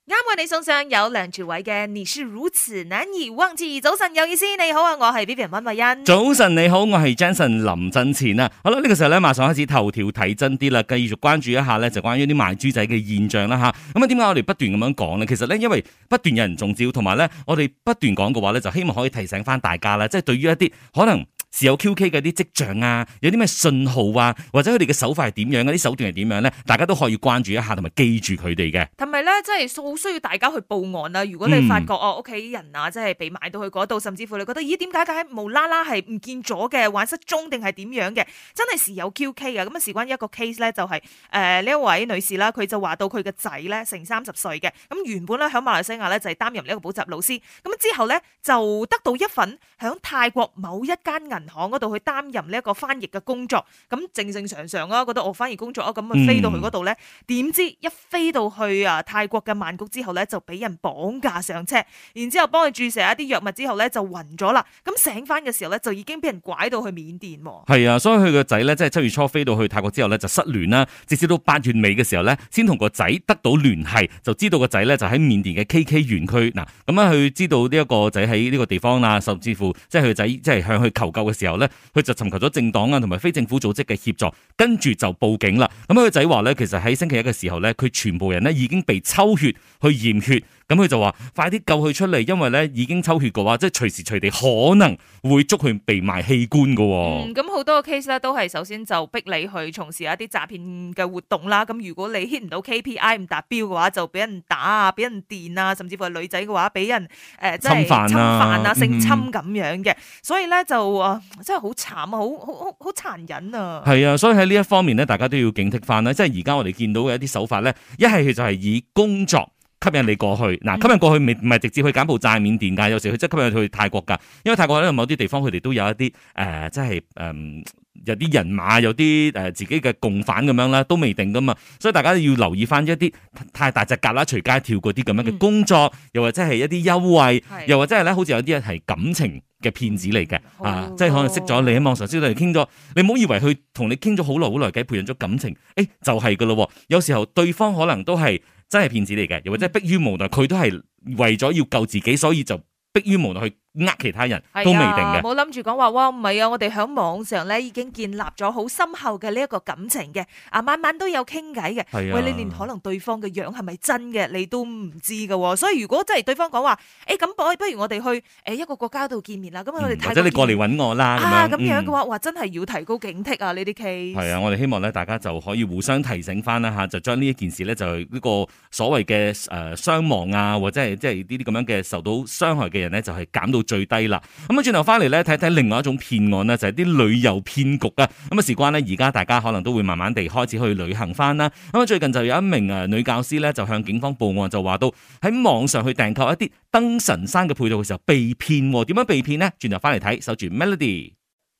啱為你送上有梁朝偉嘅你是如此難以忘記。早晨有意思，你好啊，我係 Vivian 溫慧欣。 早晨你好，我係 Jensen 林振前啊。好啦，呢個時候咧，馬上開始頭條睇真啲啦，繼續關注一下咧，就關於啲賣豬仔嘅現象啦吓。咁啊，點解我哋不斷咁樣講咧？其實咧，因為不斷有人中招，同埋咧，我哋不斷講嘅話咧，就希望可以提醒翻大家啦，即係對於一啲可能是有 QK 嘅啲跡象啊，有啲咩信號啊，或者佢哋嘅手法係點樣，啲手段係點樣咧，大家都可以關注一下，同埋記住佢哋嘅。 同埋咧，即係好需要大家去報案啦。如果你發覺屋企人啊，即係被賣到去嗰度，甚至乎你覺得咦點解無啦啦係唔見咗嘅，玩失蹤定係點樣嘅，真係時有 QK 嘅。咁啊，事關一個 case 咧，就係呢一位女士啦，佢就話到佢嘅仔咧成30歲嘅，咁原本咧喺馬來西亞咧就係擔任呢一個補習老師，咁之後咧就得到一份喺泰國某一間銀行嗰度去擔任呢一個翻譯嘅工作，咁正正常常啊，覺得我翻譯工作啊，咁啊飛到去嗰度咧，點知一飛到去泰國嘅曼谷之後咧，就俾人綁架上車，然之後幫佢注射一啲藥物之後咧就暈咗啦，咁醒翻嘅時候咧就已經俾人拐到去緬甸。 係啊，所以佢個仔咧即係7月初飛到去泰國之後咧就失聯啦，直至到8月尾嘅時候咧先同個仔得到聯繫，就知道個仔咧就喺緬甸嘅 KK 園區嗱，咁啊佢知道呢一個仔喺呢個地方啦，甚至乎即係佢個仔即係向佢求救嘅時候咧，佢就尋求咗政黨啊同埋非政府組織嘅協助，跟住就報警啦。咁佢個仔話咧，其實喺星期一嘅時候咧，佢全部人咧已經被抽血去驗血，咁佢就話快啲救佢出嚟，因為咧已經抽血嘅話，即係隨時隨地可能會捉佢被賣器官噶。 咁好多個 case 咧都係首先就逼你去從事一啲詐騙嘅活動啦。咁如果你 hit 唔到 KPI 唔達標嘅話，就俾人打啊，俾人電啊，甚至乎係女仔嘅話俾人即係侵犯啊、性侵咁樣嘅。所以咧就真係好慘啊，好殘忍啊。 係啊，所以喺呢一方面咧，大家都要警惕翻啦。即係而家我哋見到嘅一啲手法咧，一係就係以工作吸引你過去，嗱，吸引過去唔係直接去柬埔寨、緬甸噶，有時佢即係吸引去泰國噶，因為泰國咧某啲地方佢哋都有一啲即係有啲人馬，有啲自己嘅共犯咁樣啦，都未定噶嘛，所以大家要留意翻一啲太大隻蛤乸隨街跳嗰啲咁樣嘅工作，又或者係一啲優惠，又或者係咧好似有啲人係感情嘅騙子嚟嘅，即係可能識咗你喺網上識到你傾咗，你唔好以為佢同你傾咗好耐偈，培養咗感情，就係噶咯，有時候對方可能都係真係騙子嚟嘅，又或者迫於無奈，佢都係為咗要救自己，所以就迫於無奈去其他人都未定嘅。 冇諗住講話哇，唔係啊！我哋喺網上咧已經建立咗好深厚嘅呢一個感情嘅，晚晚都有傾偈嘅。喂，你連可能對方嘅樣係咪真嘅，你都唔知㗎。所以如果真係對方講話，咁不如我哋去一個國家度見面啦。咁我哋或者你過嚟揾我啦。 咁樣嘅話，哇，真係要提高警惕啊！呢啲 case 係啊，我哋希望咧，大家就可以互相提醒翻啦吓，就將呢一件事咧，就呢個所謂嘅傷亡啊，或者係即係呢啲咁樣嘅受到傷害嘅人咧，就係減到最低啦。咁啊，轉頭翻嚟咧，睇睇另外一種騙案呢，就係啲旅遊騙局啊。咁啊，事關呢，而家大家可能都會慢慢地開始去旅行翻啦。咁啊，最近就有一名女教師咧，就向警方報案，就話到喺網上去訂購一啲登神山嘅配套嘅時候被騙。點樣被騙呢？轉頭翻嚟睇，守住 Melody。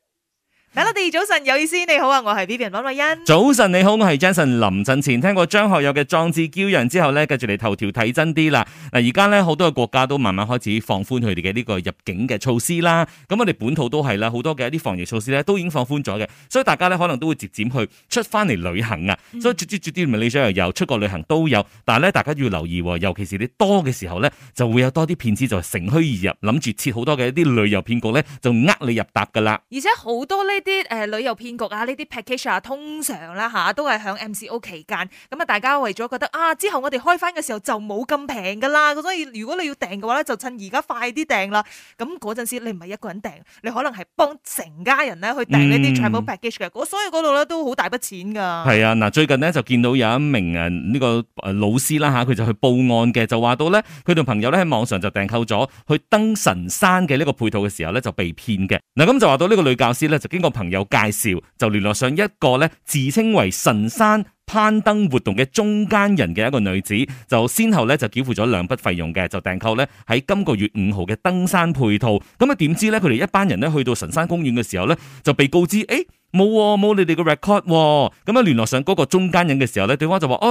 Melody 早晨有意思，你好啊，我係 Vivian 溫慧欣。 早晨你好，我係 Jason 林振前。聽過張學友嘅壯志驕陽之後咧，跟住嚟頭條睇真啲啦。嗱，而家咧好多嘅國家都慢慢開始放寬佢哋嘅呢個入境嘅措施啦。咁我哋本土都係啦，好多嘅一啲防疫措施咧都已經放寬咗嘅，所以大家咧可能都會漸漸去出翻嚟旅行啊。所以絕啲Malaysia又有出國旅行都有，但係咧大家要留意，尤其是你多嘅時候咧，就會有多啲騙子就乘虛而入，諗住設好多嘅一啲旅遊騙局咧，就呃你入搭噶啦。 而且好多呢啲旅遊騙局啊，呢啲 package 啊，通常啦都係響 MCO 期間，咁啊大家為咗覺得之後我哋開翻嘅時候就冇咁平噶啦，所以如果你要訂嘅話咧，就趁而家快啲訂啦。咁嗰陣時你唔係一個人訂，你可能係幫成家人咧去訂呢啲 travel package 嘅，所以嗰度咧都好大筆錢噶。係啊，嗱，最近呢，就見到有一名呢個老師啦吓，佢就去報案嘅，就話到咧佢同朋友咧喺網上就訂購咗去登神山嘅呢個配套嘅時候咧就被騙嘅。嗱，咁就話到呢個女教師咧就經過朋友介紹，就聯絡上一個咧自稱為神山攀登活動嘅中間人嘅一個女子，就先後咧就繳付咗2筆費用嘅，就訂購咧喺今個月5號嘅登山配套。咁啊點知咧佢哋一班人咧去到神山公園嘅時候咧就被告知冇你哋嘅 record。咁啊聯絡上嗰個中間人嘅時候咧，對方就話：哎呀，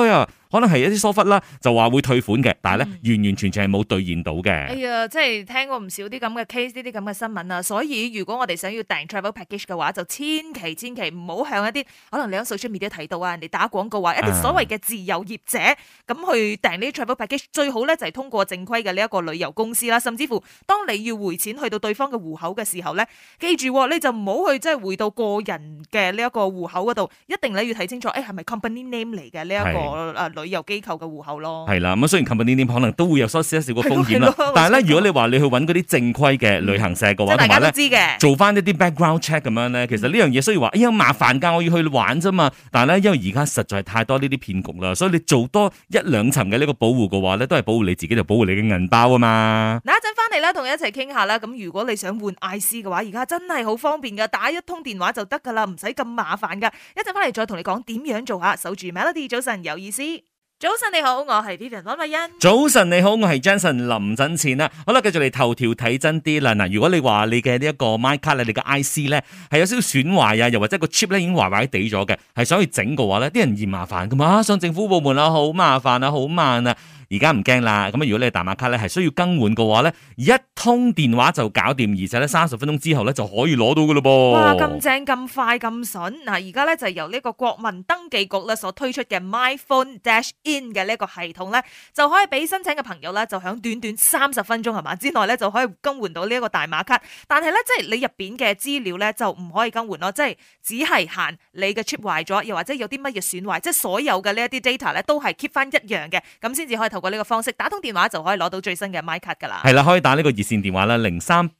可能係一啲疏忽啦，就話會退款嘅，但係咧完完全全係冇兌現到嘅。 哎呀，即係聽過唔少啲咁嘅 case，呢啲咁嘅新聞啊，所以如果我哋想要訂 travel package 嘅話，就千祈唔好向一啲可能你喺 social media 睇到啊，人哋打廣告啊，一啲所謂嘅自由業者咁去訂呢啲 travel package，最好咧就係通過正規嘅呢一個旅遊公司啦，甚至乎當你要匯錢去到對方嘅戶口嘅時候咧，記住你就唔好去即係匯到個人嘅呢一個戶口嗰度，一定你要睇清楚，係咪 company name 嚟嘅呢一個旅遊機構嘅戶口咯。 係啦，咁雖然 company name 可能都會有少少個風險啦，但係咧，如果你話你去揾嗰啲正規嘅旅行社嘅話，同埋咧做翻一啲 background check 咁樣咧，其實呢樣嘢雖然話麻煩㗎，我要去玩啫嘛，但係咧因為而家實在係太多呢啲騙局啦，所以你做多一兩層嘅呢個保護嘅話咧，都係保護你自己，就保護你嘅銀包啊嘛。 嗱，一陣翻嚟啦，同你一齊傾下啦。咁如果你想換 IC 嘅話，而家真係好方便㗎，打一通電話就得㗎啦，唔使咁麻煩㗎。一陣翻嚟再同你講點樣做下，守住 Melody 早晨有意思。早晨你好，我係 Vivian 溫慧欣。 早晨你好，我係 Jensen 林振前啦。好啦，繼續嚟頭條睇真啲啦。嗱，如果你話你嘅呢一個 My Card 你嘅 IC 咧係有少少損壞啊，又或者個 chip 咧已經壞壞地咗嘅，係想去整嘅話咧，啲人嫌麻煩噶嘛，上政府部門啊，好麻煩啊，好慢啊。而家唔驚啦，咁如果你大馬卡咧係需要更換嘅話咧，一通電話就搞掂，而且咧30分鐘之後咧就可以攞到噶咯噃。 哇，咁正咁快咁筍！嗱，而家咧就由呢個國民登記局咧所推出嘅 MyPhone Dash In 嘅呢一個系統咧，就可以俾申請嘅朋友咧就響短短30分鐘係嘛之內咧就可以更換到呢一個大馬卡。但係咧即係你入邊嘅資料咧就唔可以更換咯，即係只係限你嘅 chip 壞咗，又或者有啲乜嘢損壞，即係所有嘅呢一啲 data 咧都係 keep 翻一樣嘅，咁先至可以透過呢個方式打通電話就可以攞到最新嘅 My 卡噶啦。 係啦，可以打呢個熱線電話啦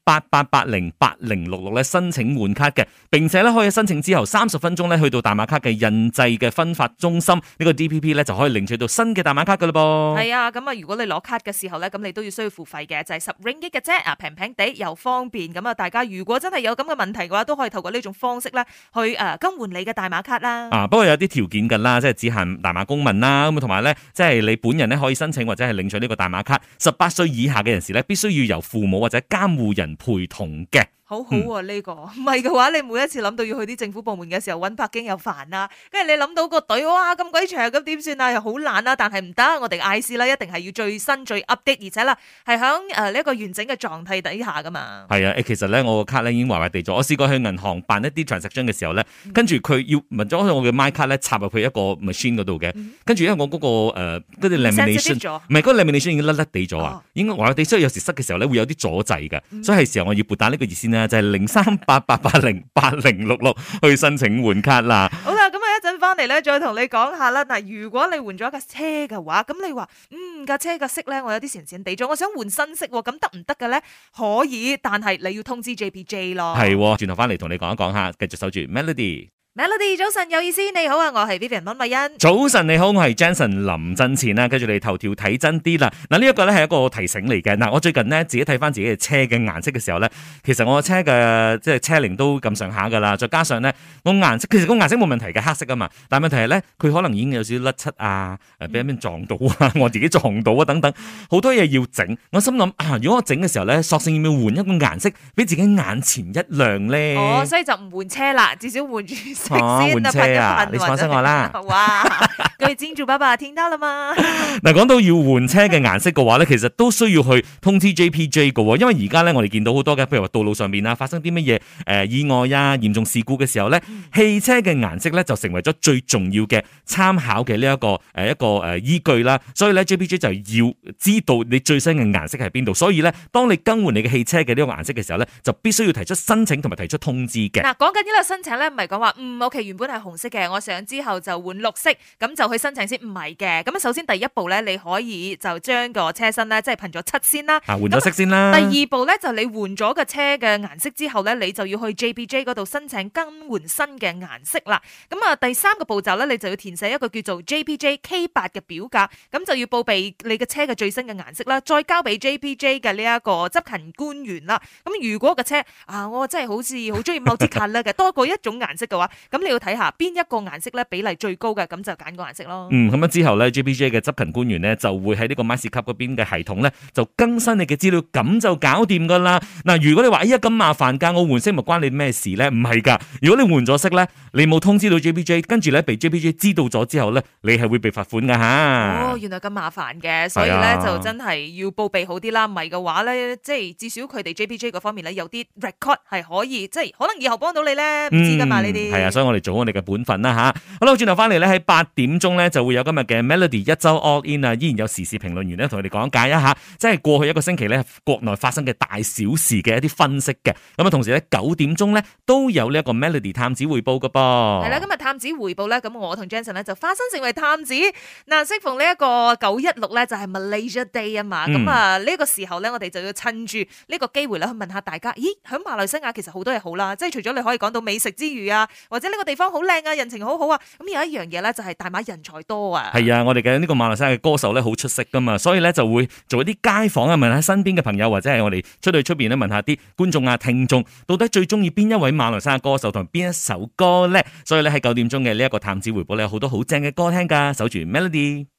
0388808066咧申請換卡嘅，並且咧可以申請之後30分鐘咧去到大馬卡嘅印製嘅分發中心呢個 DPP 咧就可以領取到新嘅大馬卡噶啦噃。 係啊，咁啊如果你攞卡嘅時候咧，咁你都要需要付費嘅，就係10 ringgit 嘅啫，啊平平地又方便。咁啊大家如果真係有咁嘅問題嘅話，都可以透過呢種方式咧去更換你嘅大馬卡啦。 不過有啲條件噶啦，即係只限大馬公民啦，咁同埋咧即係你本人咧可以申請或者係領取呢個大馬卡，18歲以下嘅人士咧必須要由父母或者監護人陪同嘅。 好好啊呢個，唔係嘅話，你每一次諗到要去啲政府部門嘅時候揾北京又煩啦，跟住你諗到個隊，哇咁鬼長，咁點算啊？又好懶啦，但係唔得，我哋 IC 啦，一定係要最新最 update，而且啦係響呢一個完整嘅狀態底下噶嘛。係啊，其實咧我個卡咧已經壞壞地咗，我試過去銀行辦一啲 transaction 嘅時候咧，跟住佢要問咗我嘅 My 卡咧插入去一個 machine 嗰度嘅，跟住因為我嗰個嗰啲 lamination 唔係嗰個 lamination 已經甩甩地咗啊，應該壞壞地，所以有時塞嘅時候咧會有啲阻滯嘅，所以係時候我要撥打呢個熱線就係0388808066去申請換卡啦。 好啦，咁啊一陣翻嚟咧，再同你講下啦。嗱，如果你換咗架車嘅話，咁你話架車嘅色咧，我有啲閃閃地咗，我想換新色，咁得唔得嘅咧？可以，但係你要通知 JPJ 咯。 係，轉頭翻嚟同你講一講下，繼續守住 Melody。Melody 早晨有意思，你好啊，我係 Vivian 溫慧欣。 早晨你好，我係 Jensen 林振前啦，跟住你頭條睇真啲啦。嗱，呢一個咧係一個提醒嚟嘅。嗱，我最近咧自己睇翻自己嘅車嘅顏色嘅時候咧，其實我車嘅即係車齡都咁上下噶啦，再加上咧我顏色其實個顏色冇問題嘅，黑色啊嘛，但係問題係咧佢可能已經有少少甩漆啊，俾人撞到啊，我自己撞到啊等等，好多嘢要整。我心諗如果我整嘅時候咧，索性要唔要換一個顏色俾自己眼前一亮咧？ 哦，所以就唔換車啦，至少換住。 換車啊！你放心我啦。 哇，各位金主爸爸聽到了嗎？ 嗱，講到要換車嘅顏色嘅話咧，其實都需要去通知 JPJ 嘅，因為而家咧我哋見到好多嘅，譬如話道路上面啊發生啲乜嘢意外啊嚴重事故嘅時候咧，汽車嘅顏色咧就成為咗最重要嘅參考嘅呢一個依據啦。所以咧 JPJ 就要知道你最新嘅顏色係邊度，所以咧當你更換你嘅汽車嘅呢個顏色嘅時候咧，就必須要提出申請同埋提出通知嘅。 嗱，講緊呢個申請咧，唔係講話OK，原本係紅色嘅，我上之後就換綠色，咁就去申請先，唔係嘅。咁首先第一步咧，你可以就將個車身咧，即係噴咗漆先啦， 換咗色先啦。 第二步咧，就你換咗個車嘅顏色之後咧，你就要去 JPJ 嗰度申請更換新嘅顏色啦。咁啊，第三個步驟咧，你就要填寫一個叫做 JPJ K8 嘅表格，咁就要報備你嘅車嘅最新嘅顏色啦，再交俾 JPJ 嘅呢一個執勤官員啦。咁如果個車我真係好似好中意某啲 colour 嘅，多過一種顏色嘅話，咁你要睇下邊一個顏色咧比例最高嘅，咁就揀個顏色值咯。 咁樣之後咧 ，JPJ 嘅執勤官員咧就會喺呢個 MySecup 嗰邊嘅系統咧就更新你嘅資料，咁就搞掂噶啦。嗱，如果你話哎呀咁麻煩噶，我換色咪關你咩事咧？唔係噶，如果你換咗色咧，你冇通知到 JPJ， 跟住咧被 JPJ 知道咗之後咧，你係會被罰款噶吓。 哦，原來咁麻煩嘅，所以咧就真係要報備好啲啦。唔係嘅話咧，即係至少佢哋 JPJ 嗰方面咧有啲 record 係可以，即係可能以後幫到你咧，唔知噶嘛呢啲。係啊，所以我哋做我哋嘅本分啦吓。好啦，轉頭翻嚟咧喺8點鐘咧就會有今日嘅 Melody 一周 All In 啊，依然有時事評論員咧同佢哋講解一下，即係過去一個星期咧國內發生嘅大小事嘅一啲分析嘅。咁啊，同時咧9點鐘咧都有呢一個 Melody 探子回報噶噃。係啦， 今日探子回報咧，咁我同 Jensen 咧就化身成為探子。嗱，適逢呢一個916咧就係 Malaysia Day 啊嘛，咁啊呢個時候咧我哋就要趁住呢個機會咧去問下大家，咦，喺馬來西亞其實好多嘢好啦，即係除咗你可以講到美食之餘啊，或者呢個地方好靚啊，人情好好啊，咁有一樣嘢咧就係大馬人才多啊。 係啊，我哋嘅呢個馬來西亞嘅歌手咧好出色噶嘛，所以咧就會做一啲街訪啊，問下身邊嘅朋友或者係我哋出邊咧問下啲觀眾啊、聽眾，到底最中意邊一位馬來西亞歌手同邊一首歌咧？所以咧喺9點鐘嘅呢一個探子回報咧，有好多好正嘅歌聽噶，守住 Melody。